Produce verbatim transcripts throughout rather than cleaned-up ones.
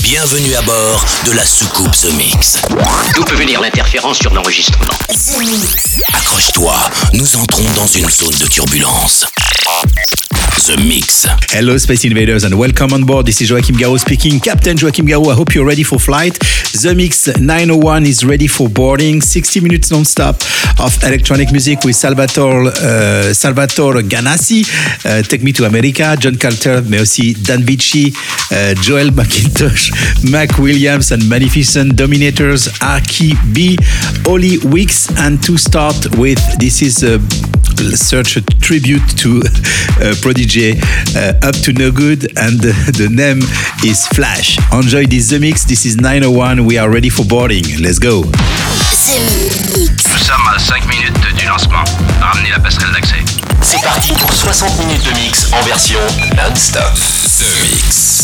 Bienvenue à bord de la soucoupe The Mix. D'où peut venir l'interférence sur l'enregistrement? The Mix. Accroche-toi, nous entrons dans une zone de turbulence. The Mix. Hello Space Invaders and welcome on board. This is Joachim Garraud speaking. Captain Joachim Garraud, I hope you're ready for flight. The Mix nine oh one is ready for boarding. sixty minutes non-stop of electronic music with Salvatore, uh, Salvatore Ganassi, uh, Take Me to America, John Carter, mais aussi Dan Vici, uh, Joel McIntosh, Mac Williams and Magnificent Dominators, Arky B, Oli Wicks. And to start with, this is a such a tribute to uh, Prodigy, uh, Up to No Good, and the, the name is Flash. Enjoy this The Mix. This is nine oh one. We are ready for boarding. Let's go. The Mix. Nous sommes à cinq minutes du lancement. Ramenez la passerelle d'accès. C'est parti pour soixante minutes de mix en version non-stop. The Mix.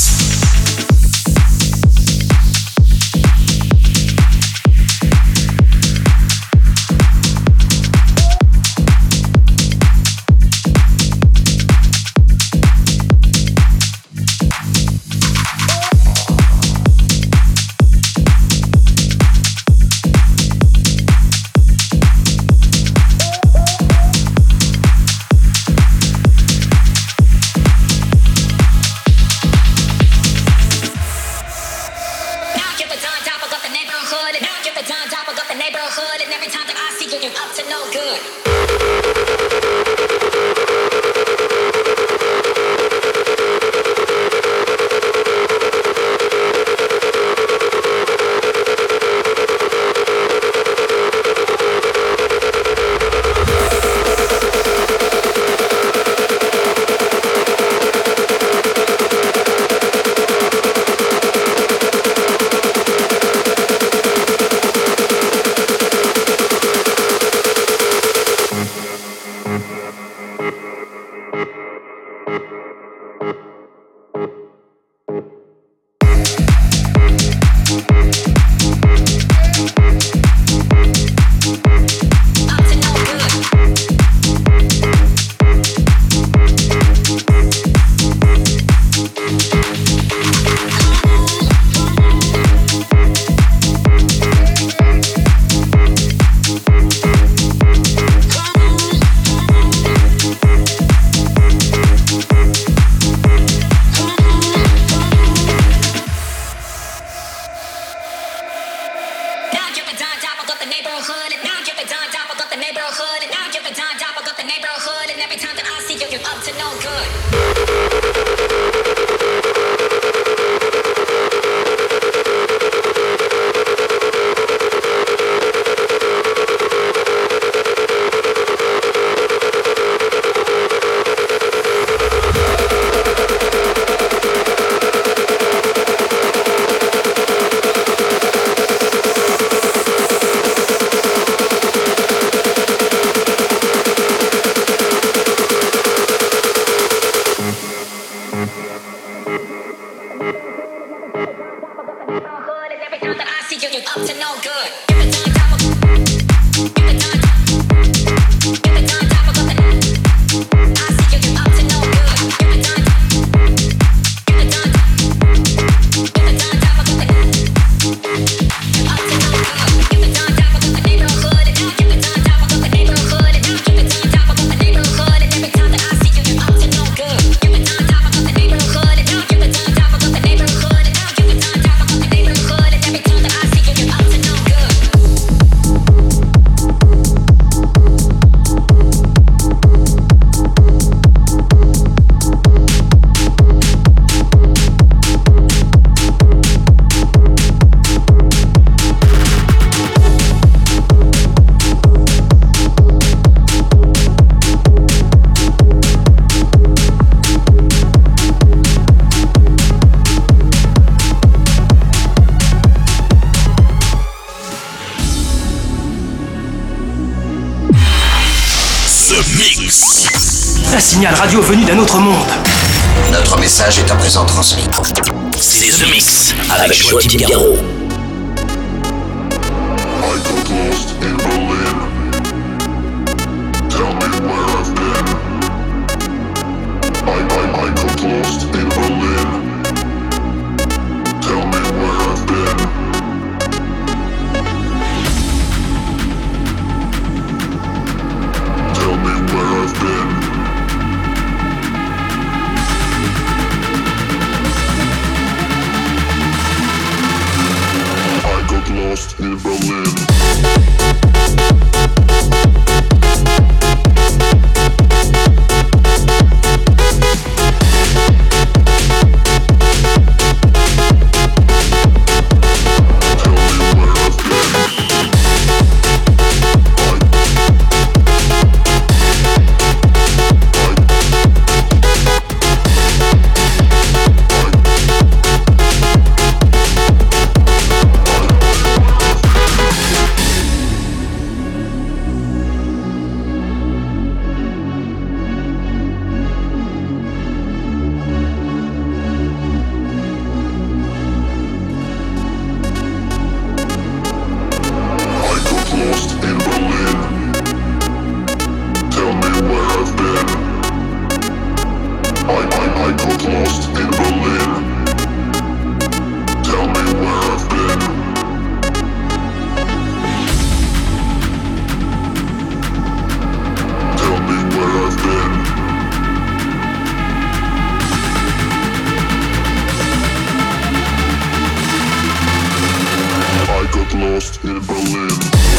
Un signal radio venu d'un autre monde. Notre message est à présent transmis. C'est The Mix avec Joachim Garraud. I got lost in Berlin. Tell me lost in Berlin. Lost in Berlin.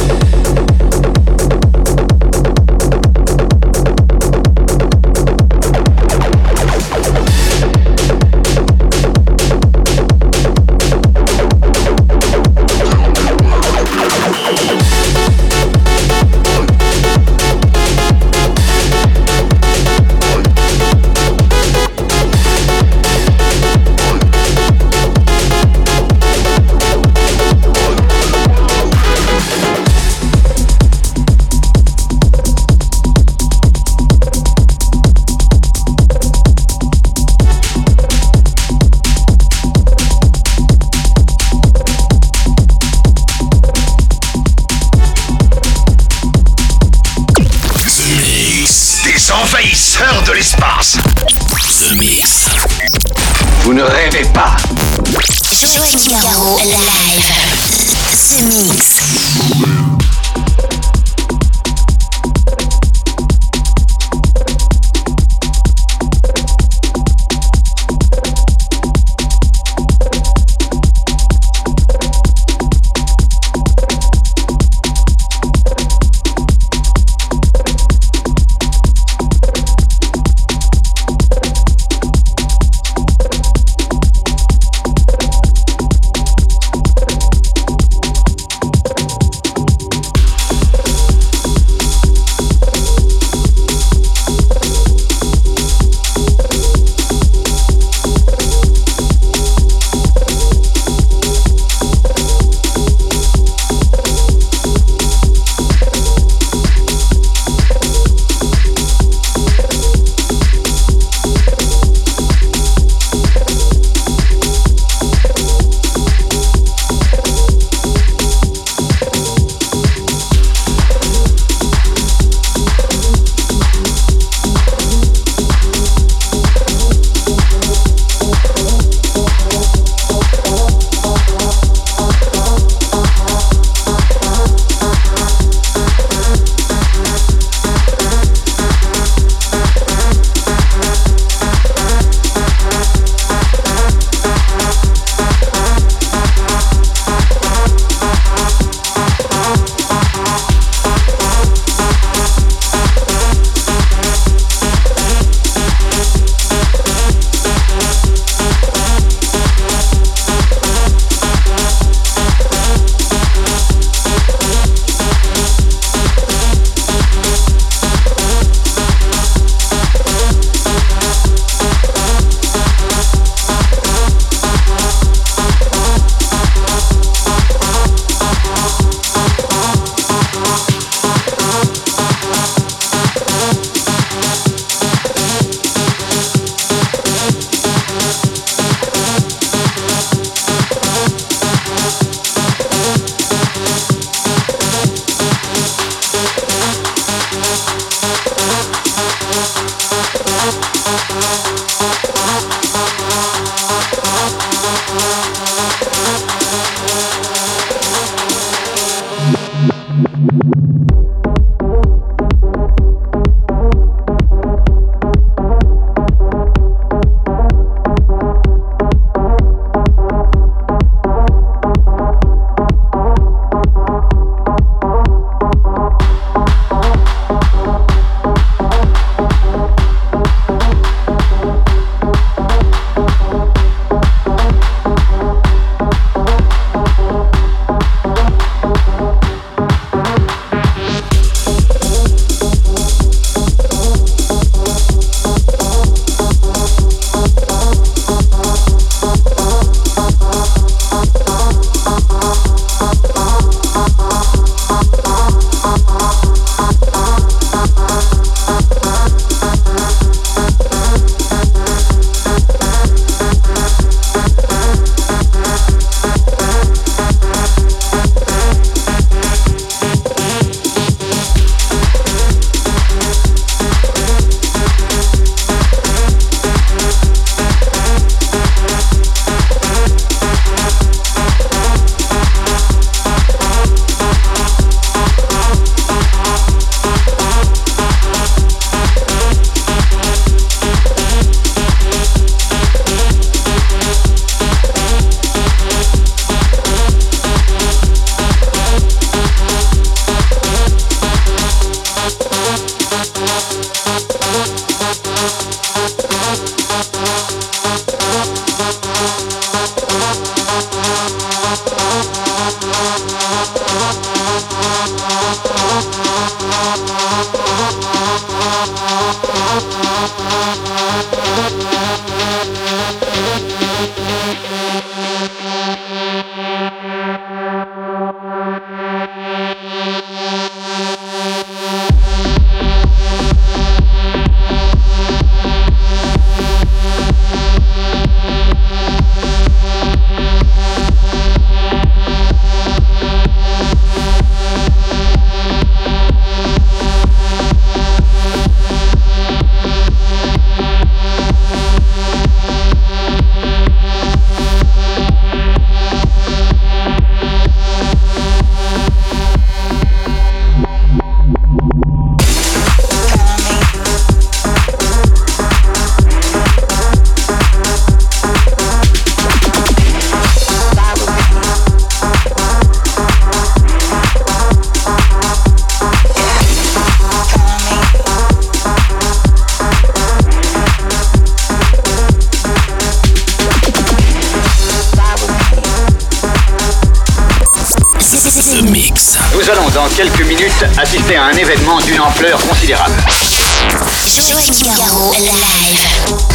Envahisseurs de l'espace. The Mix. Vous ne rêvez pas. Joachim Garraud live. The Mix. Nous allons dans quelques minutes assister à un événement d'une ampleur considérable. Joachim Garraud live.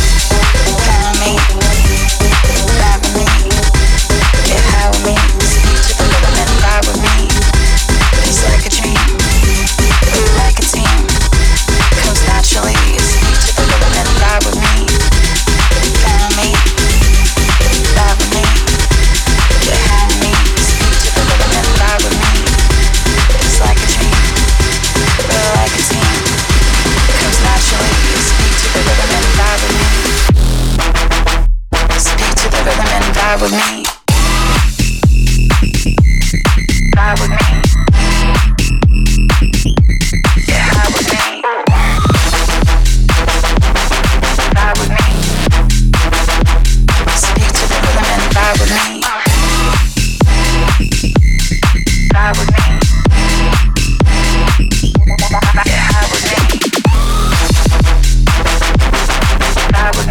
Ride with me. Ride with me. Yeah, ride with me. Ride with me. Speak to the rhythm and ride with me. Ride with me. Yeah, ride with me. Ride with me.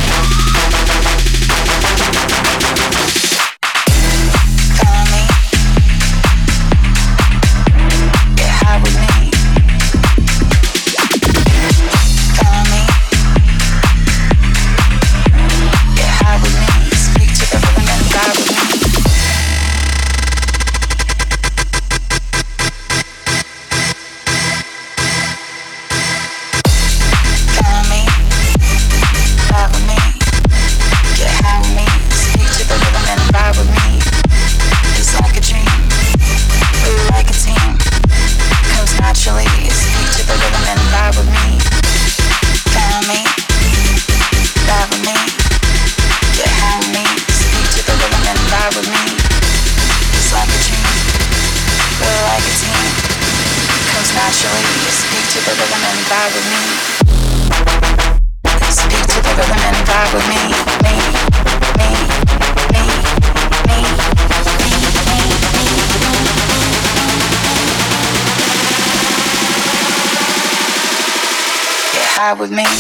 Ride with me.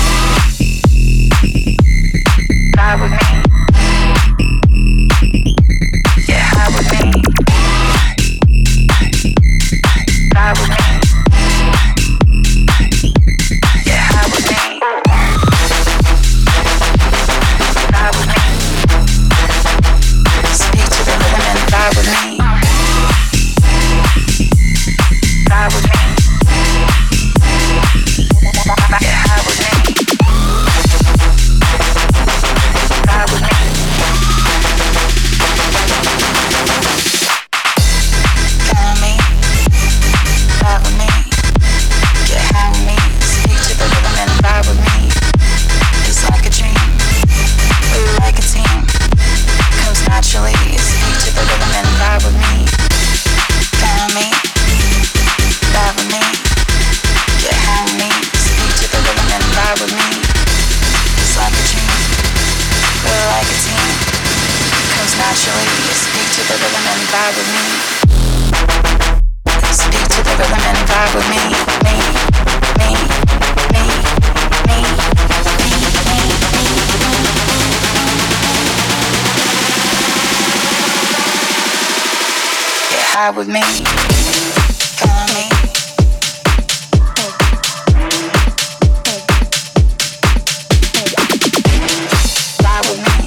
Ride with me. Yeah, ride with me. Ride with me. Yeah, ride with me. Ride with me. Speak to the rhythm and ride with me. Ride with me. Ride with me. Follow me. Ride with me.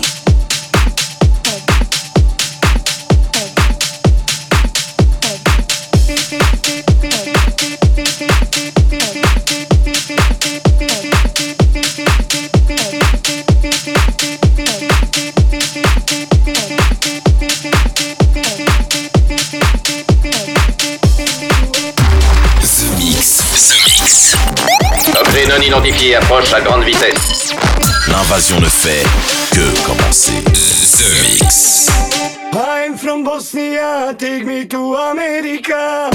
Objet non identifié approche à grande vitesse. L'invasion ne fait que commencer. The Mix. I'm from Bosnia, take me to America.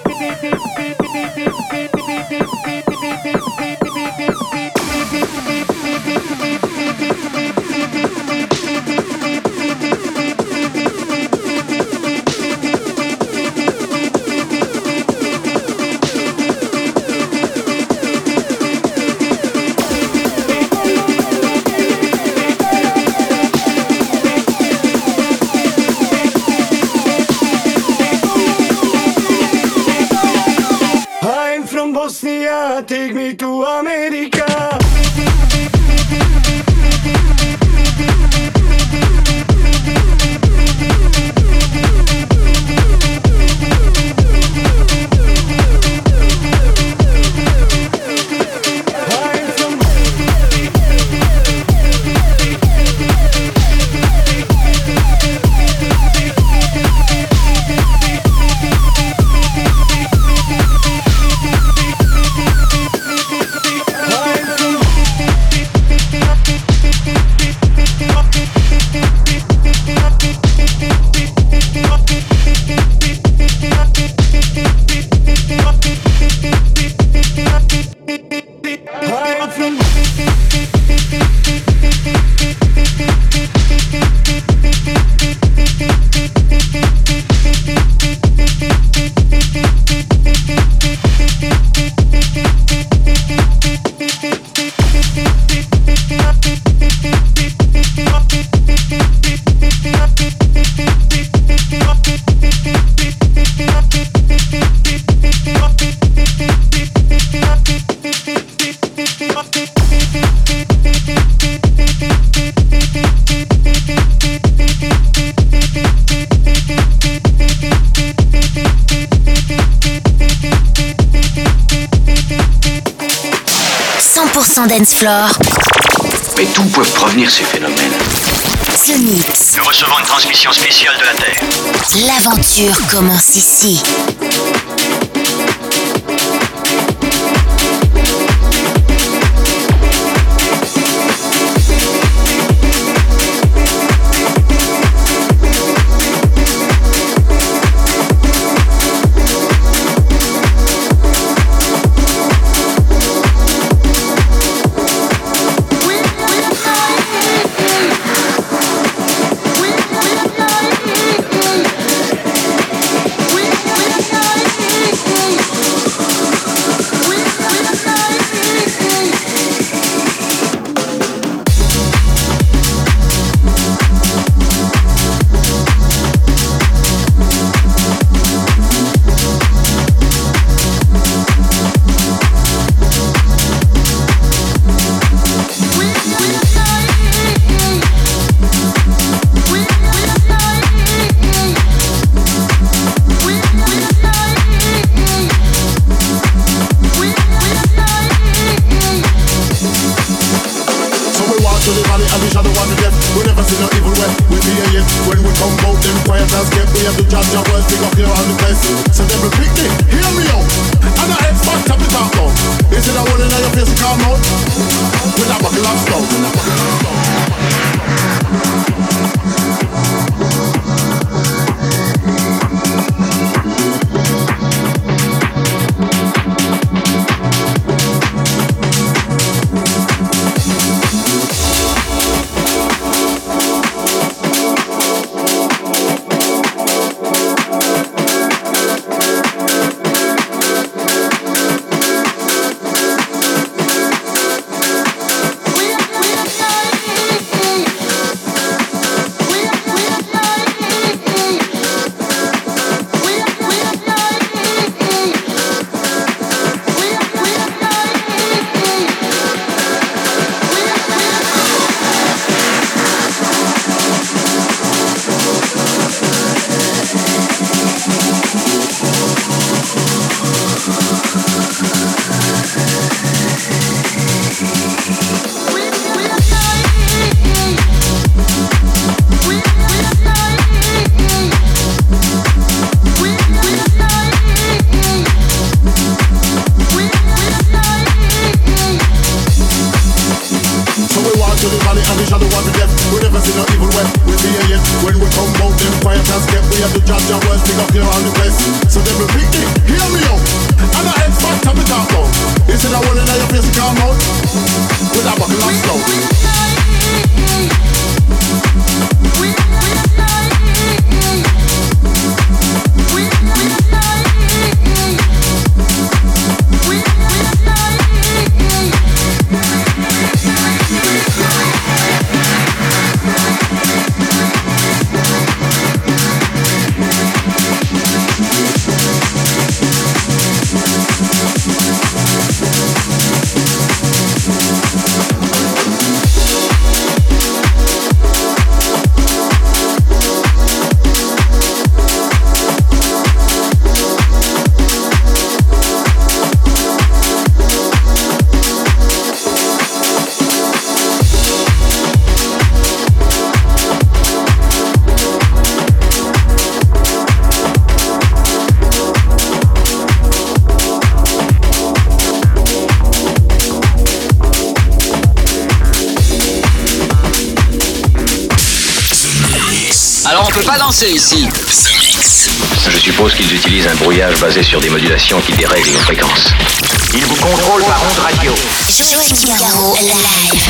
Bosnia, take me to America. cent pour cent dance floor. Mais d'où peuvent provenir ces phénomènes? The Mix. Nous recevons une transmission spéciale de la Terre. L'aventure commence ici. We we have to judge your words, pick up here on the best. So them will pick it, hear me out. I'm an expert, tell me talk about. Instead of one in your face, come out with a buckle of stout. Alors on peut pas danser ici. The Mix. Je suppose qu'ils utilisent un brouillage basé sur des modulations qui dérèglent nos fréquences. Ils vous contrôlent par onde radio. Joachim Garraud live.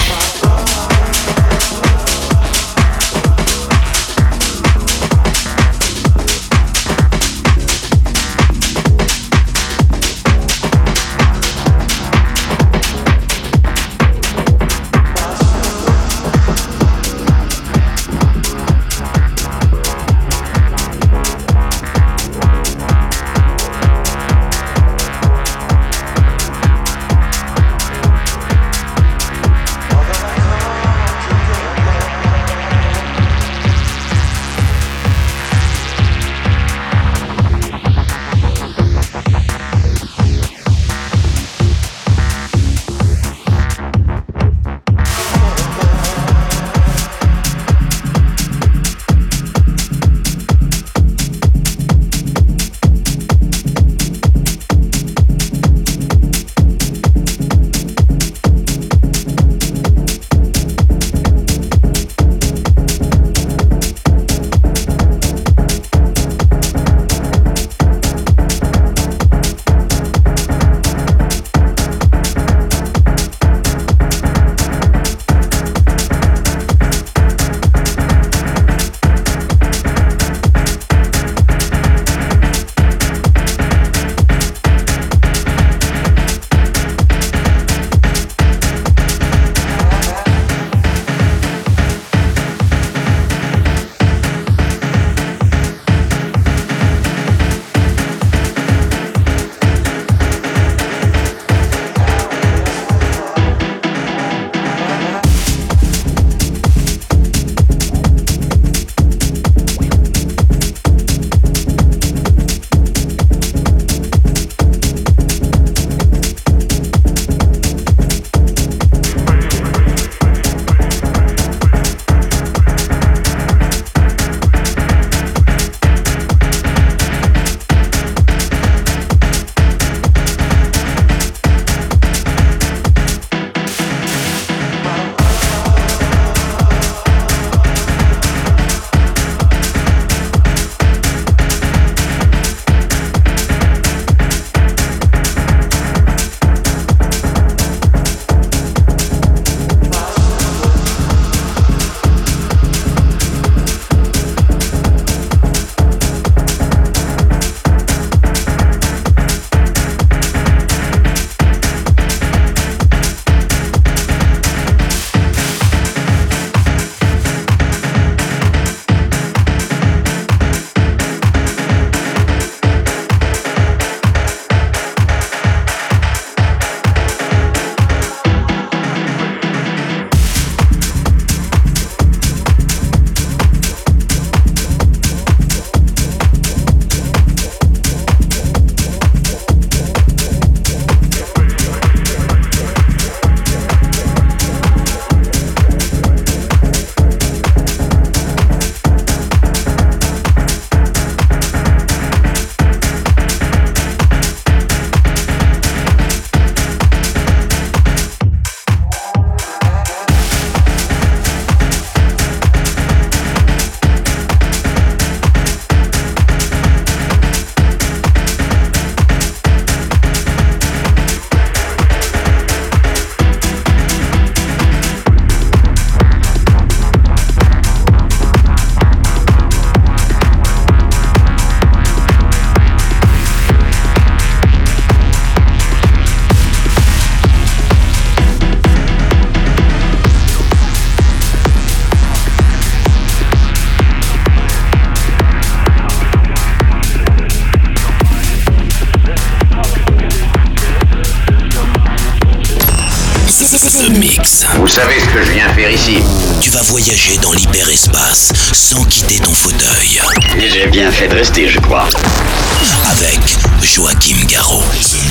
savez ce que je viens faire ici? Tu vas voyager dans l'hyperespace sans quitter ton fauteuil. Et j'ai bien fait de rester, je crois. Avec Joachim Garraud.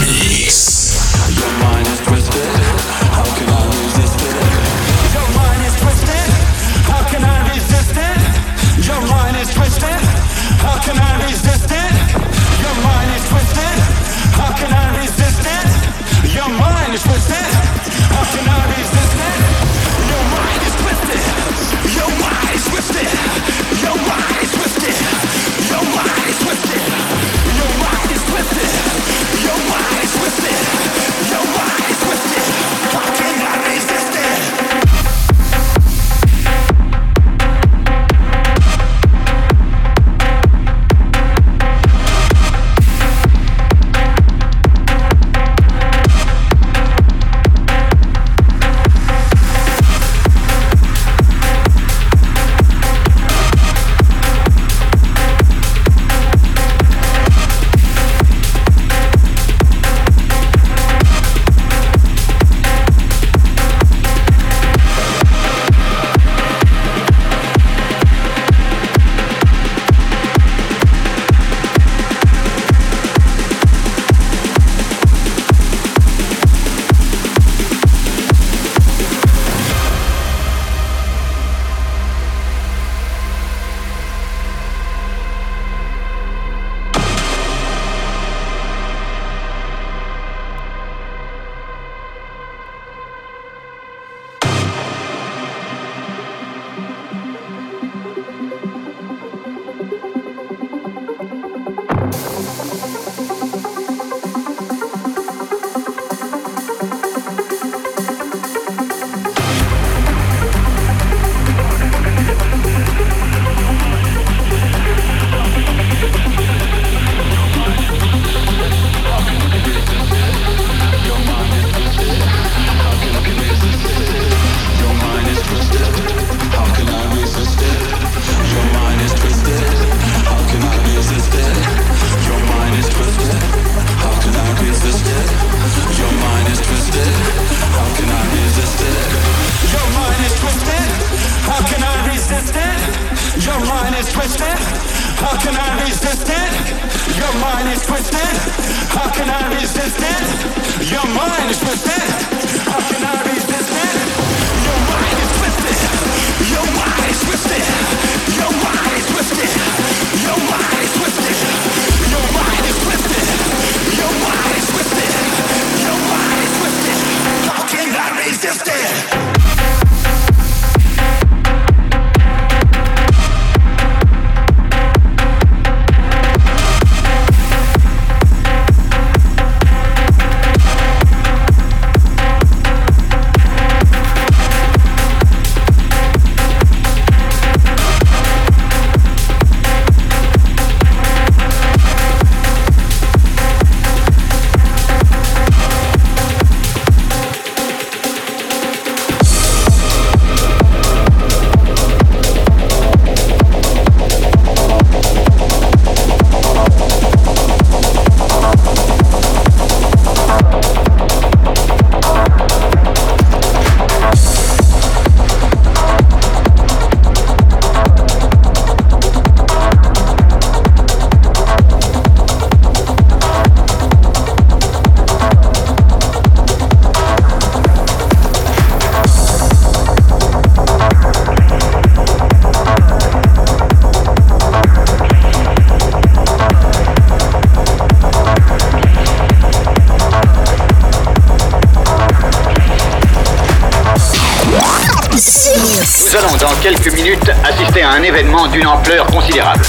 Nous allons dans quelques minutes assister à un événement d'une ampleur considérable.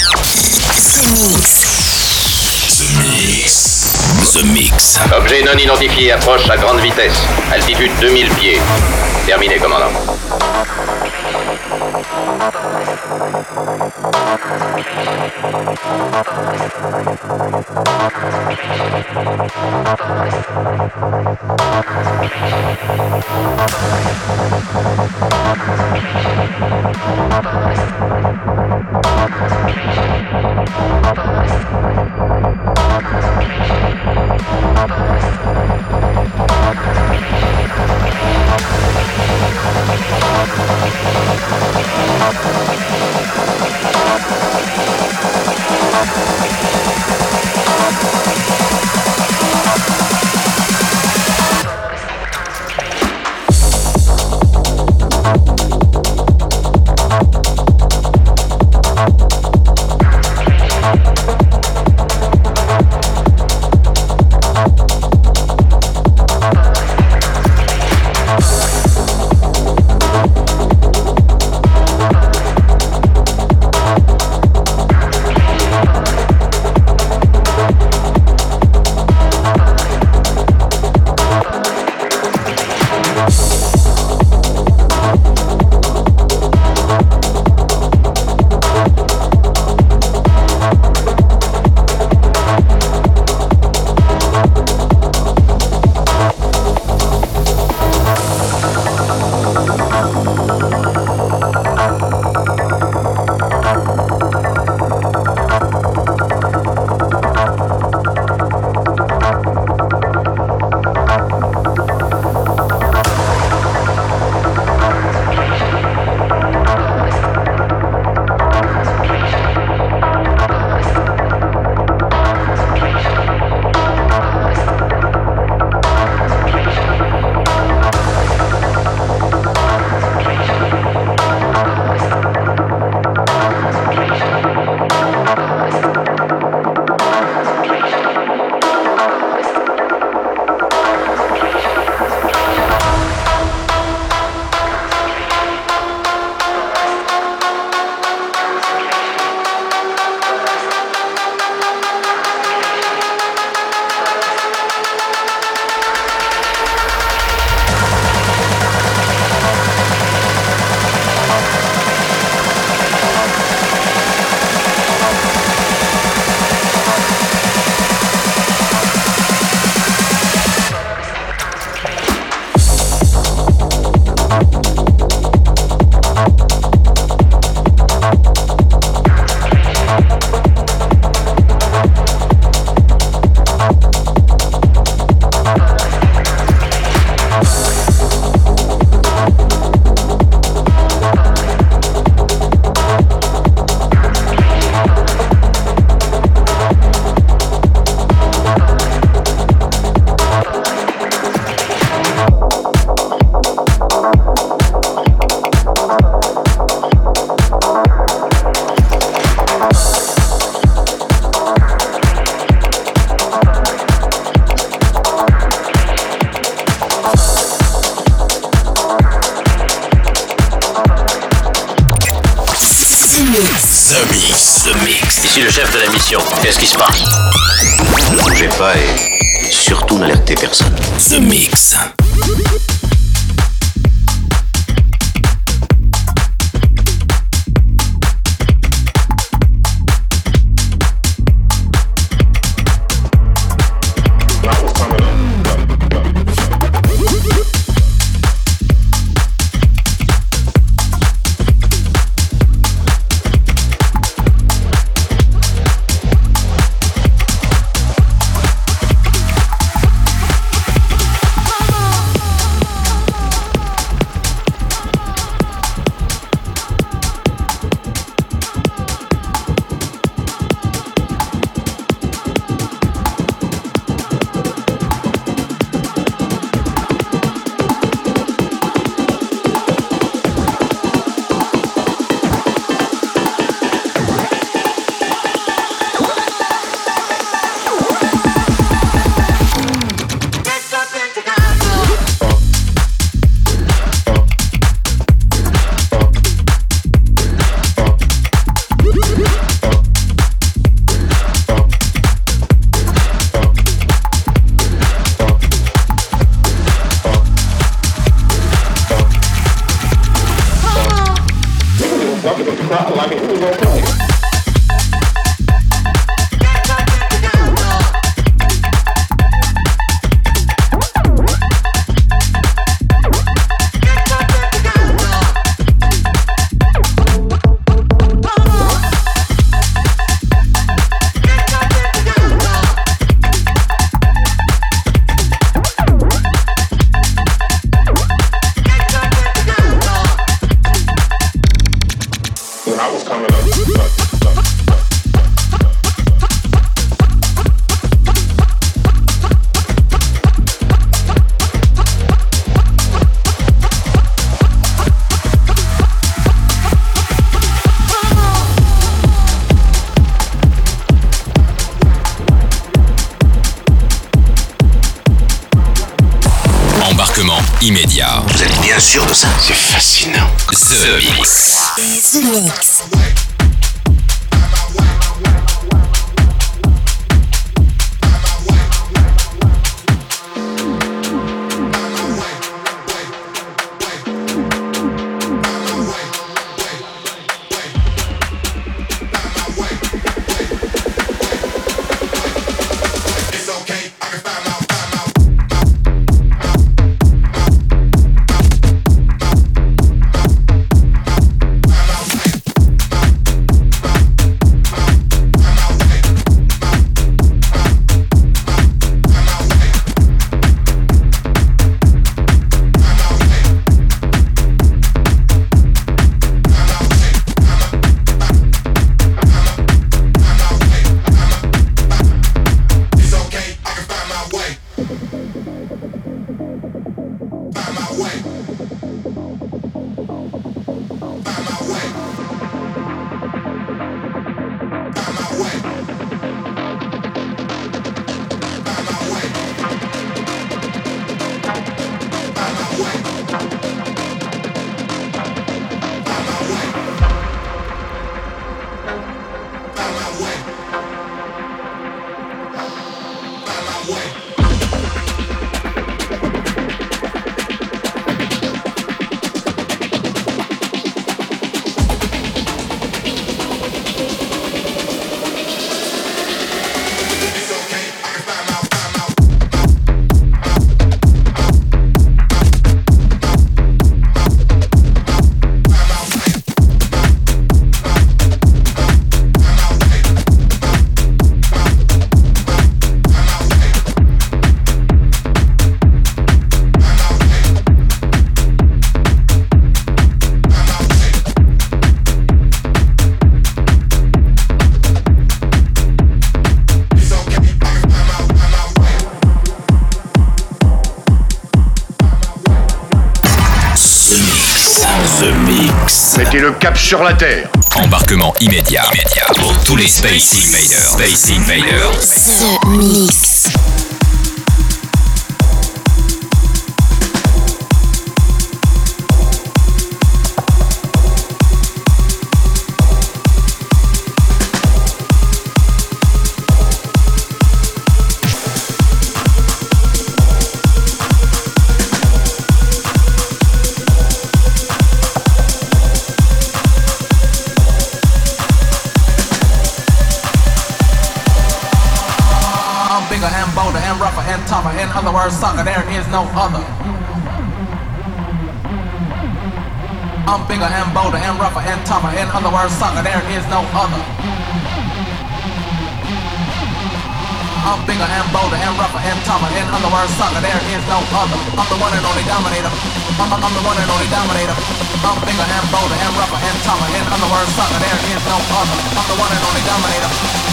The Mix. The Mix. The Mix. Objet non identifié approche à grande vitesse. Altitude deux mille pieds. Terminé, commandant. We'll be right back. suis le chef de la mission. Qu'est-ce qui se passe? Ne bougez pas et surtout n'alertez personne. The Mix. Immédiat. Vous êtes bien sûr de ça? C'est fascinant. The Mix. The Mix. Mettez le cap sur la Terre. Embarquement immédiat, immédiat pour tous les Space Invaders. Space Invaders. The Mix. and tougher. In other words, sucker, there is no other. I'm bigger and bolder and rougher and tougher. In other words, sucker, there is no other. I'm bigger and bolder and rougher and tougher. In other words, sucker, there is no other. I'm the one and only dominator. I'm, I'm the one and only dominator. I'm bigger and bolder and rougher and tougher. In other words, sucker, there is no other. I'm the one and only dominator.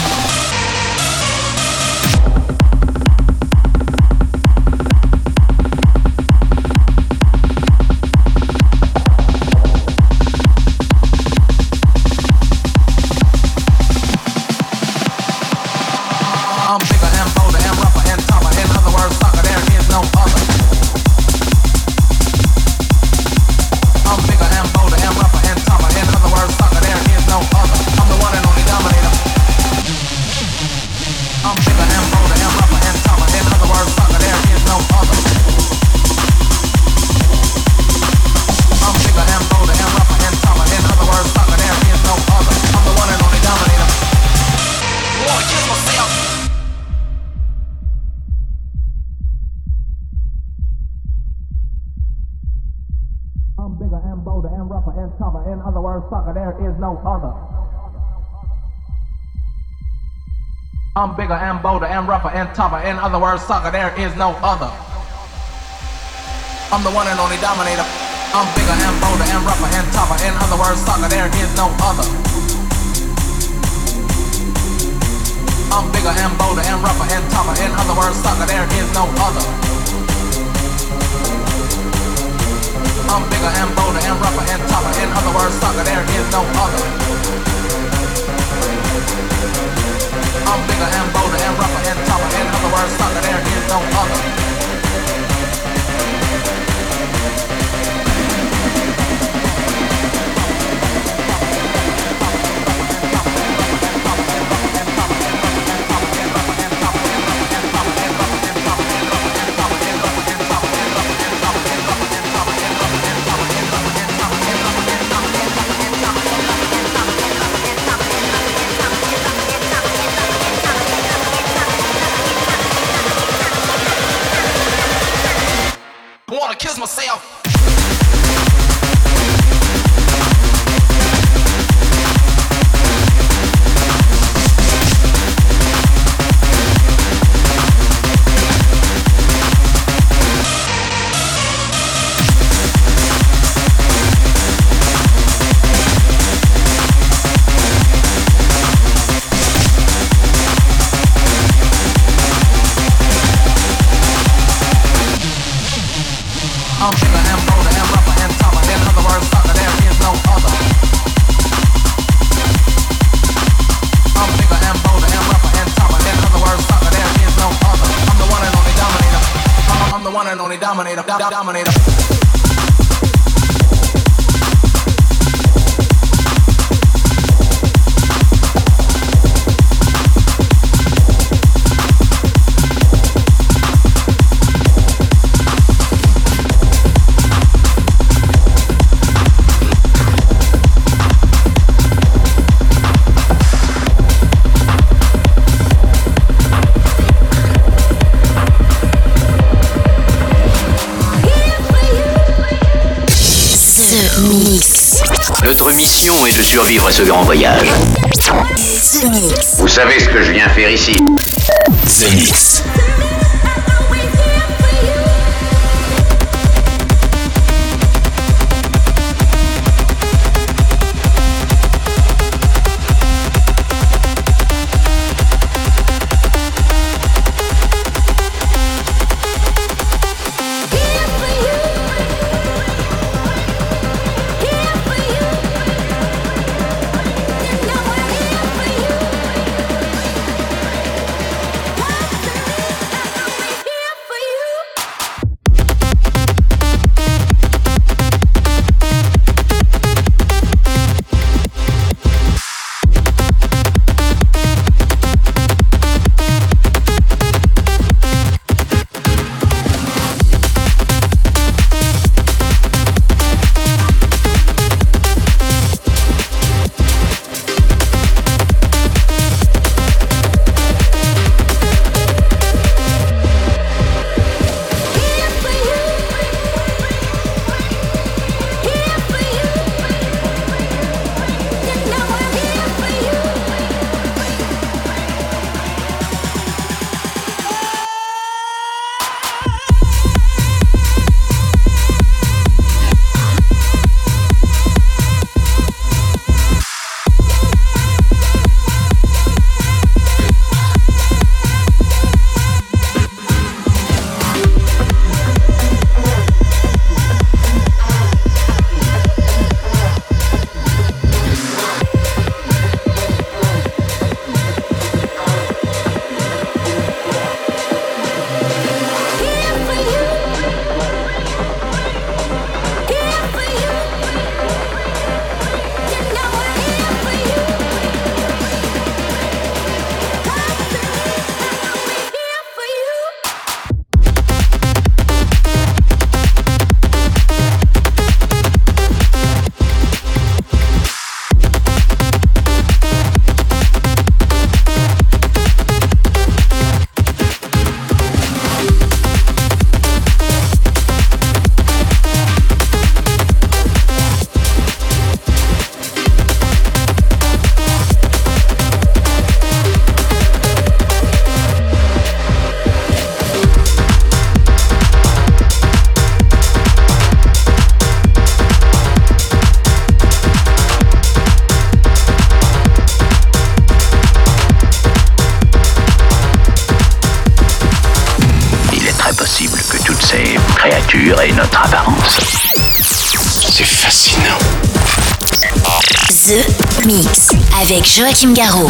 I'm bigger and bolder and rougher and tougher. In other words, sucker, there is no other. I'm bigger and bolder and rougher and tougher. In other words, sucker, there is no other. I'm the one and only dominator. I'm bigger and bolder and rougher and tougher. In other words, sucker, there is no other. I'm bigger and bolder and rougher and tougher. In other words, sucker, there is no other. I'm the one and only dominator. Wanna kiss myself? I'm bigger and bolder and rougher and tougher. In other words, sucker, there is no other. I'm bigger and bolder and rougher and tougher. In other words, sucker, there is no other. I'm the one and only dominator. I'm bigger and bolder and rougher and tougher. In other words, sucker, there is no other. I'm bigger and bolder and rougher and tougher. In other words, sucker, there is no other. I'm bigger and bolder and rougher and tougher. In other words, sucker, there is no other. I'm bigger and bolder and rougher and tougher. In other words, sucker, there is no other. Wanna kiss myself. I'm bigger and bolder and rougher and tougher. In other words, sucker, there is no other. I'm bigger and bolder and rougher and tougher. In other words, sucker, there is no other. I'm the one and only dominator. I'm, I'm the one and only dominator. Do- dominator. Mix. Notre mission est de survivre à ce grand voyage. The Mix. Vous savez ce que je viens faire ici? The Mix. créature et notre apparence. C'est fascinant. The Mix avec Joachim Garraud.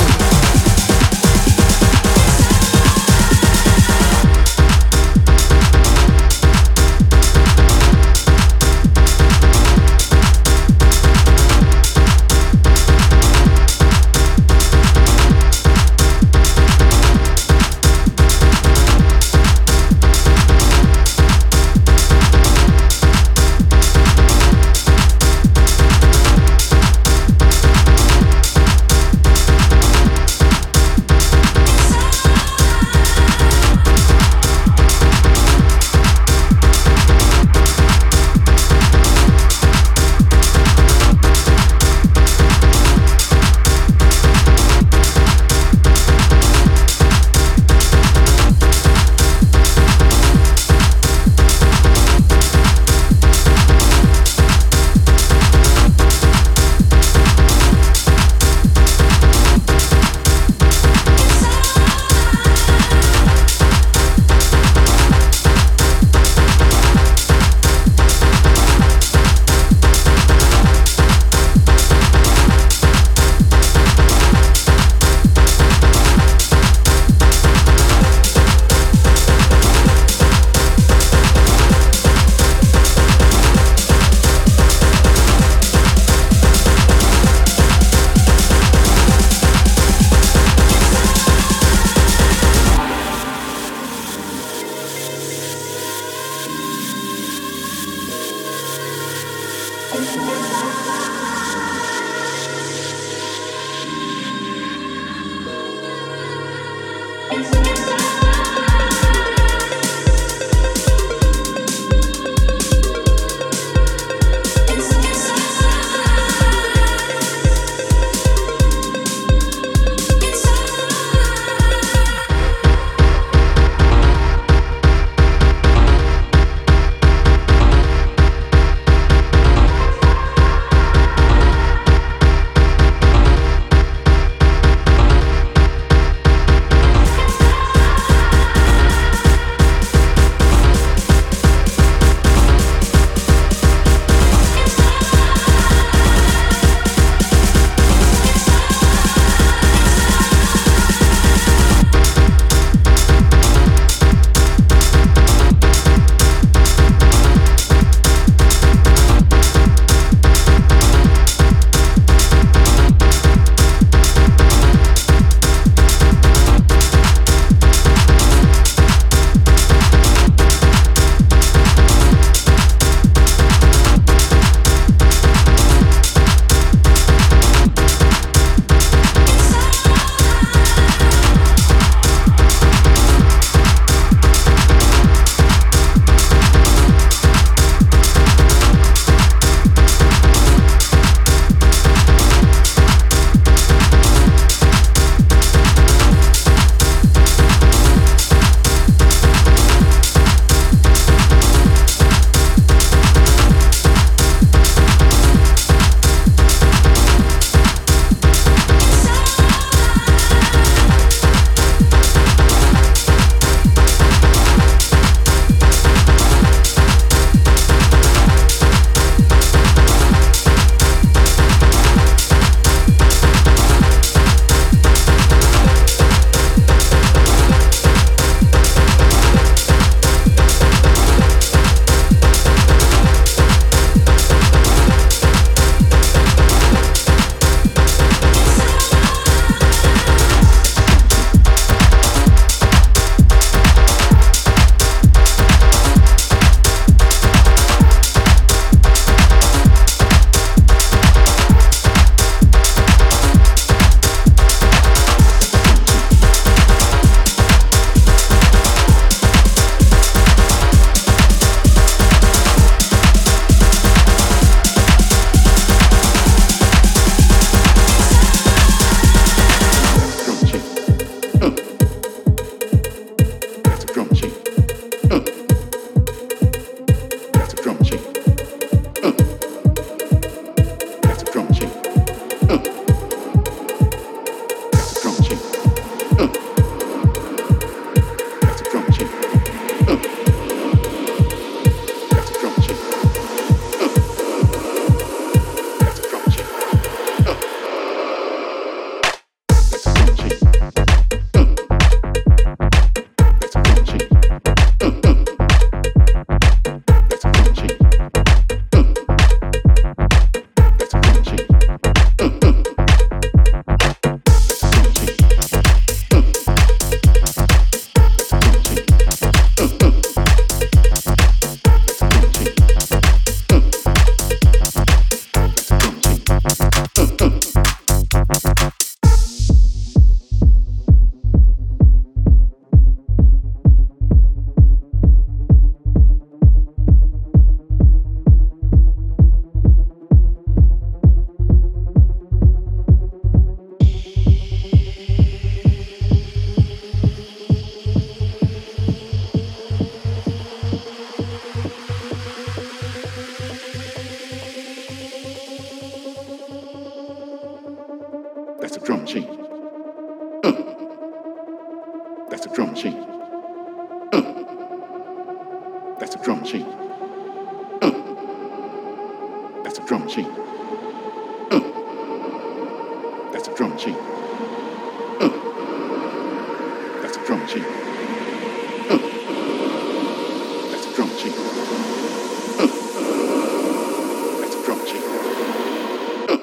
That's a drum machine. Uh. That's a drum machine. Uh. That's a drum machine. Uh. That's a drum machine. Uh. That's a drum machine. Uh. That's a drum machine. Uh.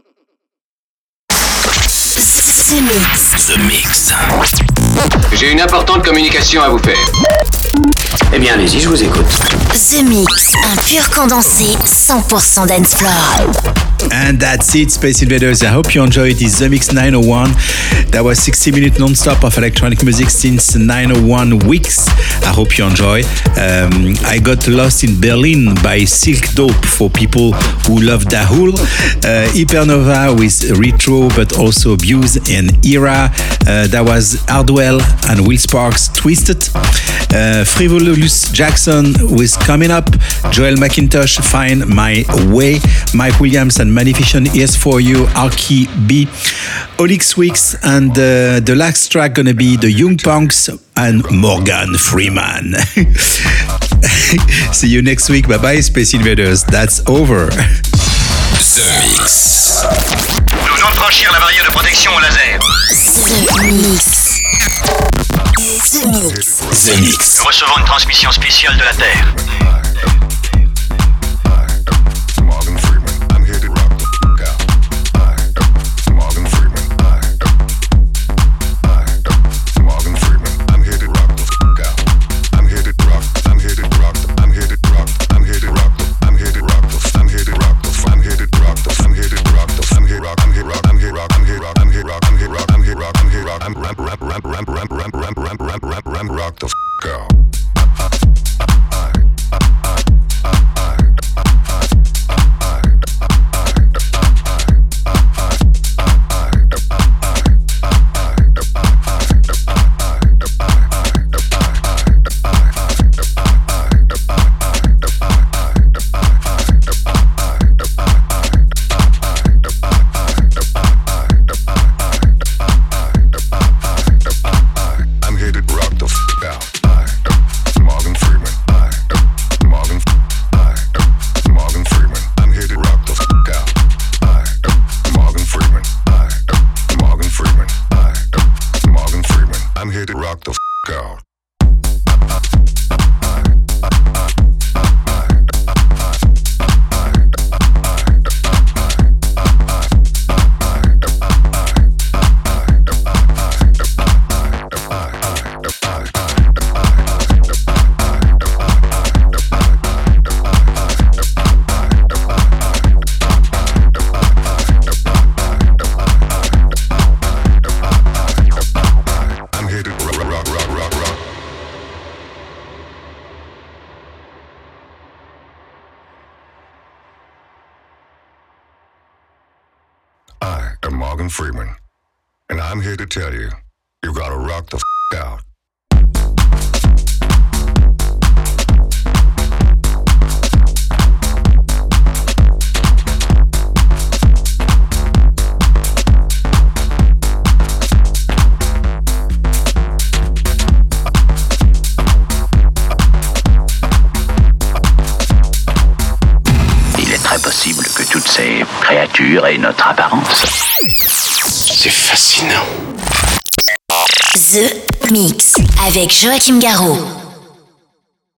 The Mix. The Mix. J'ai une importante communication à vous faire. Eh bien, allez-y, je vous écoute. The Mix, un pur condensé cent pour cent dance floor. And that's it, Space Invaders. I hope you enjoyed this The Mix nine oh one. That was sixty minutes non-stop of electronic music since nine oh one weeks. I hope you enjoy. Um, I got lost in Berlin by Silk Dope for people who love Dahul. Uh, Hypernova with Retro, but also Abuse and Era. Uh, that was Hardwell and Will Sparks, Twisted. Uh, Frivolous Jackson with Coming Up. Joel McIntosh, Find My Way. Mike Williams and Magnificent Ears for You. Arky B. Olix Weeks. And uh, the last track gonna be the Young Punks and Morgan Freeman. See you next week. Bye bye, Space Invaders. That's over. The Mix. Nous venons de franchir la barrière de protection au laser. The Mix. The Mix. The Mix. Nous recevons une transmission spéciale de la Terre. Rock the f*** out. Morgan Freeman, and I'm here to tell you, you gotta rock the f*** out. Il est très possible que toutes ces créatures aient notre apparence. C'est fascinant. The Mix avec Joachim Garraud.